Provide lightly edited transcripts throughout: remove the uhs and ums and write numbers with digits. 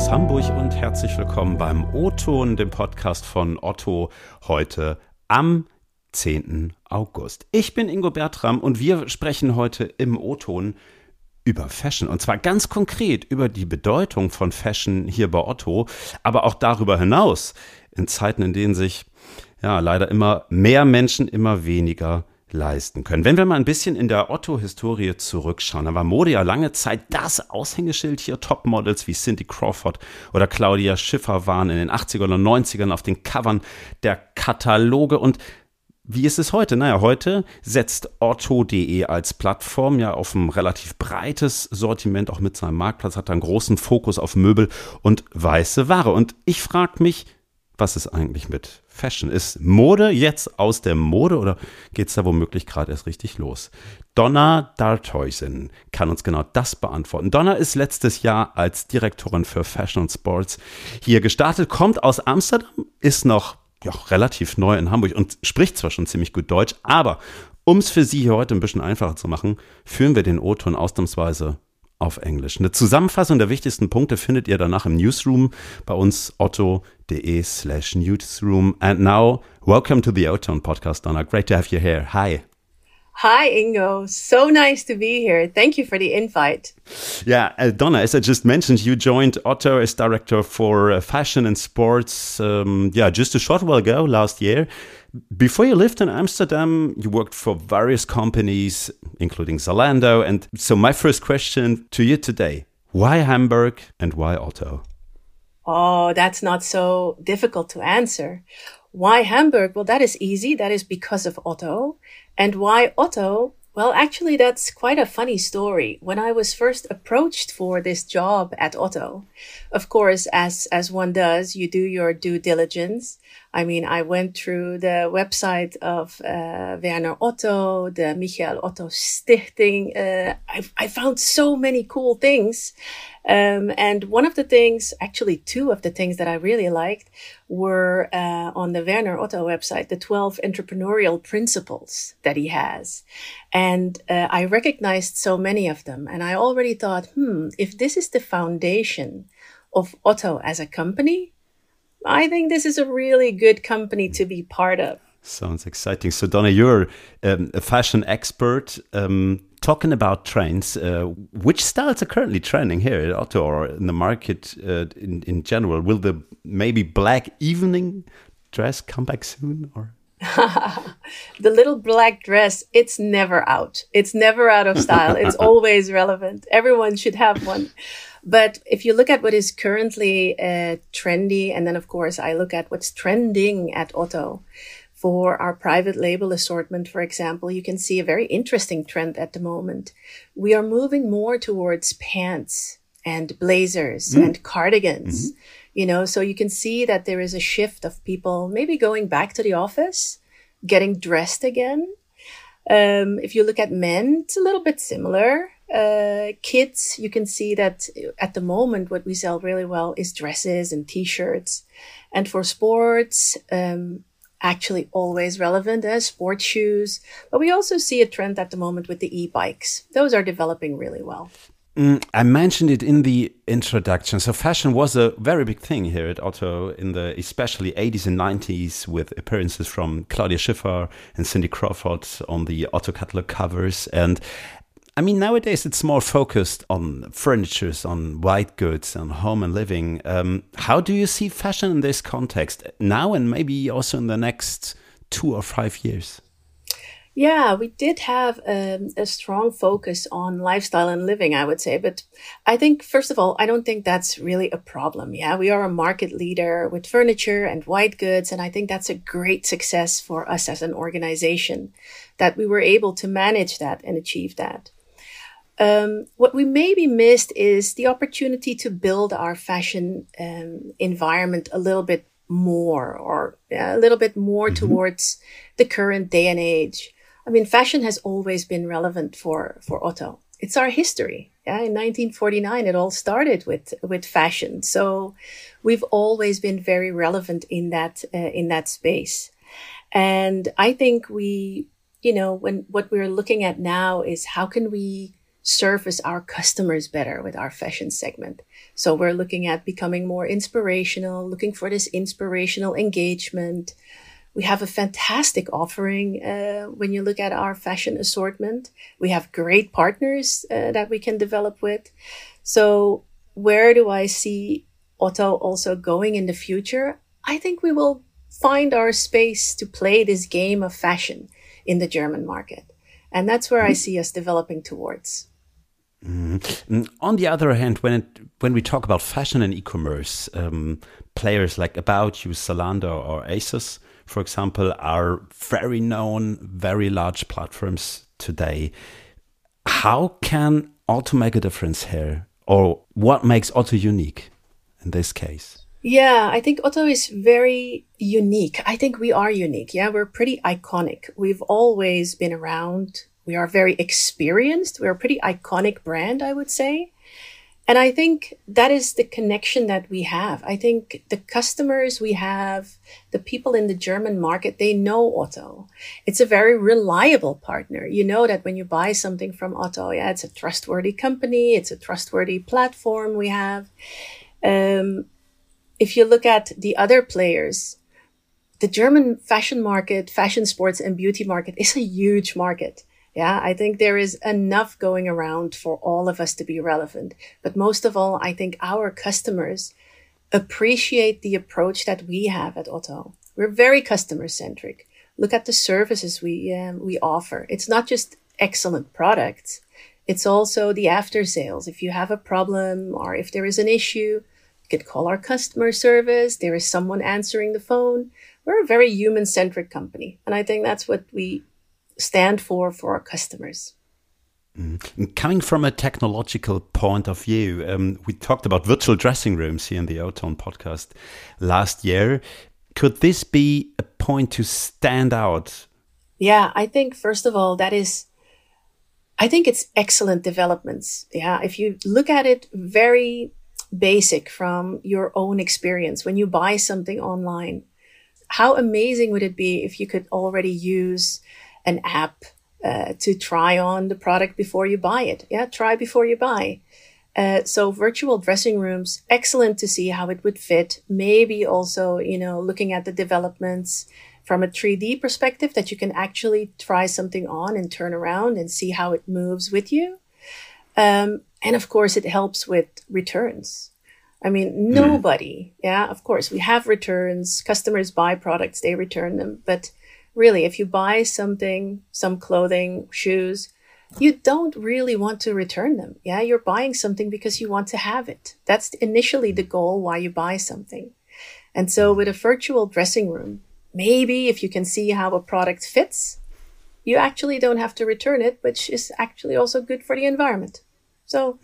aus Hamburg und herzlich willkommen beim O-Ton, dem Podcast von Otto, heute am 10. August. Ich bin Ingo Bertram und wir sprechen heute im O-Ton über Fashion und zwar ganz konkret über die Bedeutung von Fashion hier bei Otto, aber auch darüber hinaus in Zeiten, in denen sich leider immer mehr Menschen immer weniger leisten können. Wenn wir mal ein bisschen in der Otto-Historie zurückschauen, dann war Mode ja lange Zeit das Aushängeschild hier. Topmodels wie Cindy Crawford oder Claudia Schiffer waren in den 80ern und 90ern auf den Covern der Kataloge. Und wie ist es heute? Naja, heute setzt Otto.de als Plattform ja auf ein relativ breites Sortiment, auch mit seinem Marktplatz, hat einen großen Fokus auf Möbel und weiße Ware. Und ich frage mich, was ist eigentlich mit Fashion? Ist Mode jetzt aus der Mode oder geht es da womöglich gerade erst richtig los? Donna D'Arthuizen kann uns genau das beantworten. Donna ist letztes Jahr als Direktorin für Fashion und Sports hier gestartet, kommt aus Amsterdam, ist noch relativ neu in Hamburg und spricht zwar schon ziemlich gut Deutsch, aber um es für Sie hier heute ein bisschen einfacher zu machen, führen wir den O-Ton ausnahmsweise auf Englisch. Eine Zusammenfassung der wichtigsten Punkte findet ihr danach im Newsroom bei uns otto.de/newsroom. And now, welcome to the O-Ton podcast, Donna. Great to have you here. Hi. Hi, Ingo. So nice to be here. Thank you for the invite. Yeah, Donna, as I just mentioned, you joined Otto as director for fashion and sports, just a short while ago, last year. Before you lived in Amsterdam, you worked for various companies, including Zalando. And so my first question to you today, why Hamburg and why Otto? Oh, that's not so difficult to answer. Why Hamburg? Well, that is easy. That is because of Otto. And why Otto? Well, actually, that's quite a funny story. When I was first approached for this job at Otto, of course, as one does, you do your due diligence. I mean, I went through the website of Werner Otto, the Michael Otto Stichting. I found so many cool things. And one of the things, actually two of the things that I really liked were on the Werner Otto website, the 12 entrepreneurial principles that he has. And I recognized so many of them. And I already thought, if this is the foundation of Otto as a company, I think this is a really good company to be part of. Sounds exciting. So, Donna, you're a fashion expert. Talking about trends, which styles are currently trending here at Otto or in the market in general? Will the maybe black evening dress come back soon? Or the little black dress, it's never out. It's never out of style. It's always relevant. Everyone should have one. But if you look at what is currently trendy, and then, of course, I look at what's trending at Otto, for our private label assortment, for example, you can see a very interesting trend at the moment. We are moving more towards pants and blazers and cardigans, so you can see that there is a shift of people maybe going back to the office, getting dressed again. If you look at men, it's a little bit similar. Kids, you can see that at the moment, what we sell really well is dresses and t-shirts. And for sports, actually always relevant as sports shoes. But we also see a trend at the moment with the e-bikes. Those are developing really well. I mentioned it in the introduction. So fashion was a very big thing here at Otto in the especially 80s and 90s with appearances from Claudia Schiffer and Cindy Crawford on the Otto catalog covers. And I mean, nowadays it's more focused on furniture, on white goods, on home and living. How do you see fashion in this context now and maybe also in the next 2 or 5 years? Yeah, we did have a strong focus on lifestyle and living, I would say. But I think, first of all, I don't think that's really a problem. Yeah, we are a market leader with furniture and white goods. And I think that's a great success for us as an organization that we were able to manage that and achieve that. What we maybe missed is the opportunity to build our fashion environment a little bit more towards the current day and age. I mean, fashion has always been relevant for Otto. It's our history. Yeah, in 1949, it all started with fashion. So we've always been very relevant in that space. And I think what we're looking at now is how can we service our customers better with our fashion segment. So we're looking at becoming more inspirational, looking for this inspirational engagement. We have a fantastic offering when you look at our fashion assortment. We have great partners that we can develop with. So where do I see Otto also going in the future? I think we will find our space to play this game of fashion in the German market. And that's where I see us developing towards. On the other hand, when we talk about fashion and e-commerce, players like About You, Zalando, or ASOS, for example, are very known, very large platforms today. How can Otto make a difference here? Or what makes Otto unique in this case? Yeah, I think Otto is very unique. I think we are unique. Yeah, we're pretty iconic. We've always been around. We are very experienced. We're a pretty iconic brand, I would say. And I think that is the connection that we have. I think the customers we have, the people in the German market, they know Otto. It's a very reliable partner. You know that when you buy something from Otto, yeah, it's a trustworthy company. It's a trustworthy platform we have. If you look at the other players, the German fashion market, fashion, sports, and beauty market is a huge market. Yeah, I think there is enough going around for all of us to be relevant. But most of all, I think our customers appreciate the approach that we have at Otto. We're very customer-centric. Look at the services we offer. It's not just excellent products. It's also the after sales. If you have a problem or if there is an issue, you could call our customer service. There is someone answering the phone. We're a very human-centric company. And I think that's what we stand for our customers. Coming from a technological point of view, we talked about virtual dressing rooms here in the O-Ton podcast last year. Could this be a point to stand out? Yeah, I think, first of all, I think it's excellent developments. Yeah, if you look at it very basic from your own experience, when you buy something online, how amazing would it be if you could already use an app to try on the product before you buy it. Yeah, try before you buy. So virtual dressing rooms, excellent to see how it would fit. Maybe also, looking at the developments from a 3D perspective that you can actually try something on and turn around and see how it moves with you. And of course, it helps with returns. I mean, nobody, of course, we have returns. Customers buy products, they return them. But really, if you buy something, some clothing, shoes, you don't really want to return them. Yeah, you're buying something because you want to have it. That's initially the goal why you buy something. And so with a virtual dressing room, maybe if you can see how a product fits, you actually don't have to return it, which is actually also good for the environment. So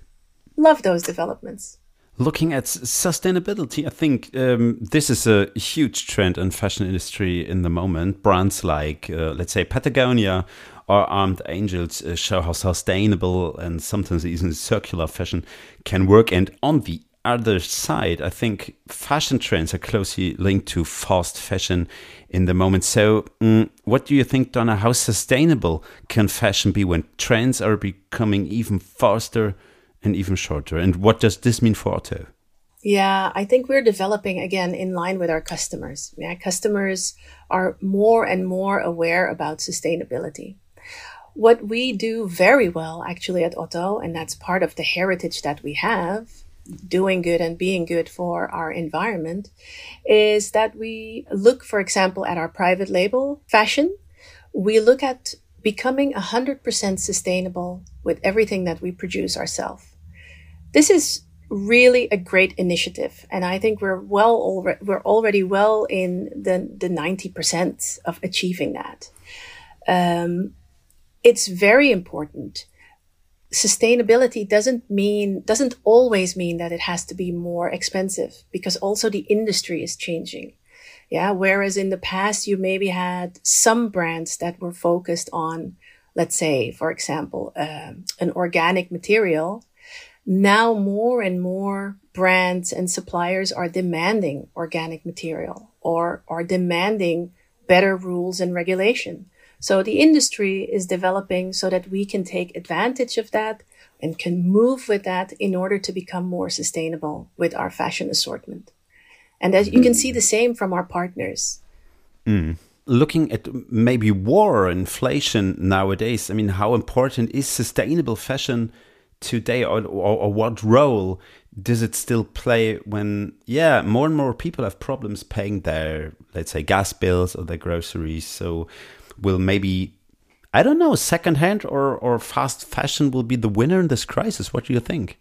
love those developments. Looking at sustainability, I think this is a huge trend in fashion industry in the moment. Brands like, let's say, Patagonia or Armed Angels show how sustainable and sometimes even circular fashion can work. And on the other side, I think fashion trends are closely linked to fast fashion in the moment. So what do you think, Donna? How sustainable can fashion be when trends are becoming even faster and even shorter? And what does this mean for Otto? Yeah, I think we're developing, again, in line with our customers. Yeah, customers are more and more aware about sustainability. What we do very well, actually, at Otto, and that's part of the heritage that we have, doing good and being good for our environment, is that we look, for example, at our private label fashion. We look at becoming 100% sustainable with everything that we produce ourselves. This is really a great initiative, and I think we're already well in the 90% of achieving that. It's very important. Sustainability doesn't always mean that it has to be more expensive, because also the industry is changing. Yeah, whereas in the past you maybe had some brands that were focused on, let's say, for example, an organic material. Now more and more brands and suppliers are demanding organic material or are demanding better rules and regulation. So the industry is developing so that we can take advantage of that and can move with that in order to become more sustainable with our fashion assortment. And as you can see the same from our partners. Looking at maybe war, inflation nowadays, I mean, how important is sustainable fashion today, or what role does it still play when, more and more people have problems paying their, let's say, gas bills or their groceries? So will maybe, I don't know, secondhand or fast fashion will be the winner in this crisis? What do you think?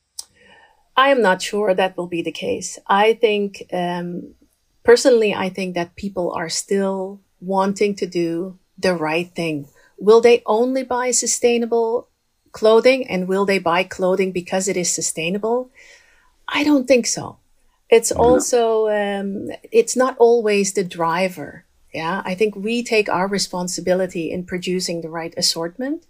I am not sure that will be the case. I think, personally, I think that people are still wanting to do the right thing. Will they only buy sustainable clothing, and will they buy clothing because it is sustainable? I don't think so. It's also, it's not always the driver. Yeah, I think we take our responsibility in producing the right assortment.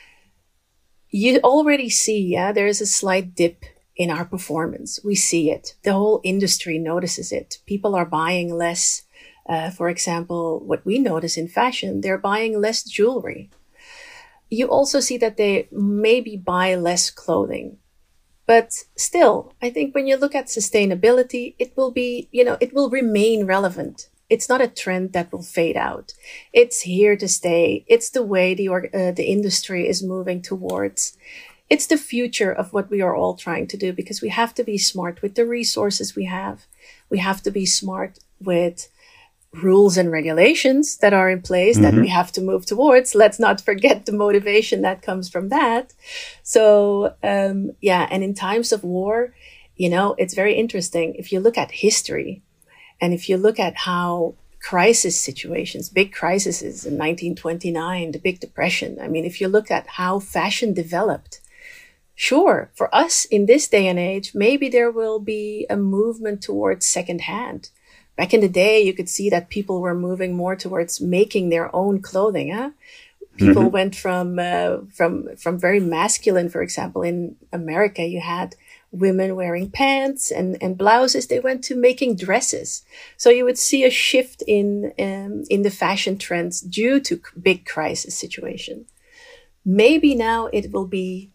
You already see, there is a slight dip in our performance. We see it. The whole industry notices it. People are buying less. For example, what we notice in fashion, they're buying less jewelry. You also see that they maybe buy less clothing. But still, I think when you look at sustainability, it will be, it will remain relevant. It's not a trend that will fade out. It's here to stay. It's the way the industry is moving towards. It's the future of what we are all trying to do, because we have to be smart with the resources we have. We have to be smart with rules and regulations that are in place that we have to move towards. Let's not forget the motivation that comes from that. So, and in times of war, it's very interesting. If you look at history and if you look at how crisis situations, big crises in 1929, the Big Depression, I mean, if you look at how fashion developed, sure, for us in this day and age, maybe there will be a movement towards secondhand. Back in the day, you could see that people were moving more towards making their own clothing. People went from very masculine, for example, in America, you had women wearing pants and blouses. They went to making dresses. So you would see a shift in the fashion trends due to big crisis situation. Maybe now it will be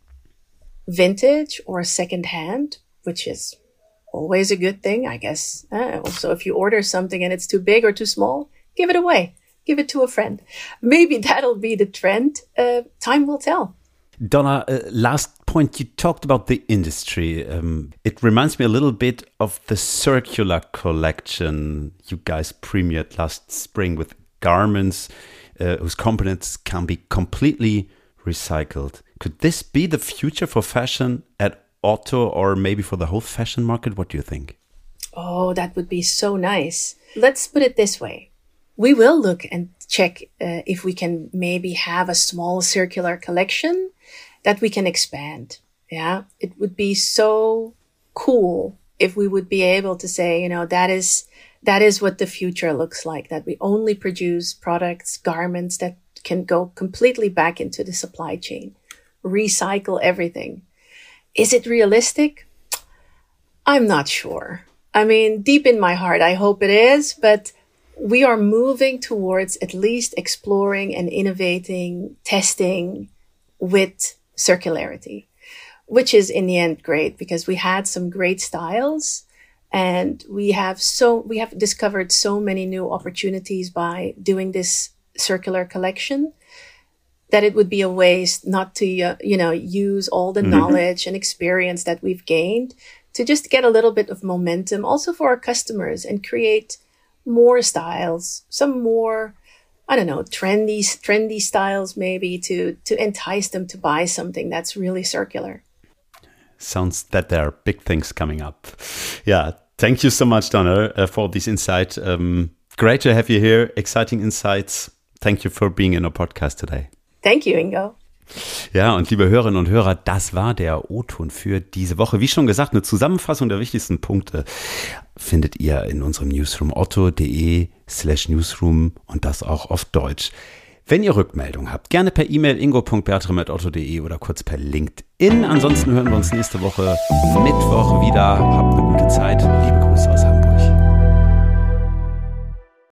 vintage or secondhand, which is always a good thing, I guess. Also, if you order something and it's too big or too small, give it away. Give it to a friend. Maybe that'll be the trend. Time will tell. Donna, last point, you talked about the industry. It reminds me a little bit of the circular collection you guys premiered last spring with garments whose components can be completely recycled. Could this be the future for fashion at Otto, or maybe for the whole fashion market? What do you think? Oh, that would be so nice. Let's put it this way. We will look and check if we can maybe have a small circular collection that we can expand. Yeah, it would be so cool if we would be able to say, that is what the future looks like, that we only produce products, garments that can go completely back into the supply chain, recycle everything. Is it realistic? I'm not sure. I mean, deep in my heart, I hope it is, but we are moving towards at least exploring and innovating, testing with circularity, which is in the end great, because we had some great styles and we have discovered so many new opportunities by doing this circular collection, that it would be a waste not to, use all the knowledge and experience that we've gained to just get a little bit of momentum also for our customers and create more styles, some more, trendy styles maybe to entice them to buy something that's really circular. Sounds that there are big things coming up. Yeah. Thank you so much, Donna, for this insight. Great to have you here. Exciting insights. Thank you for being in our podcast today. Thank you, Ingo. Ja, und liebe Hörerinnen und Hörer, das war der O-Ton für diese Woche. Wie schon gesagt, eine Zusammenfassung der wichtigsten Punkte findet ihr in unserem Newsroom otto.de/newsroom und das auch auf Deutsch. Wenn ihr Rückmeldung habt, gerne per E-Mail ingo.bertram@otto.de oder kurz per LinkedIn. Ansonsten hören wir uns nächste Woche Mittwoch wieder. Habt eine gute Zeit. Liebe Grüße aus Hamburg.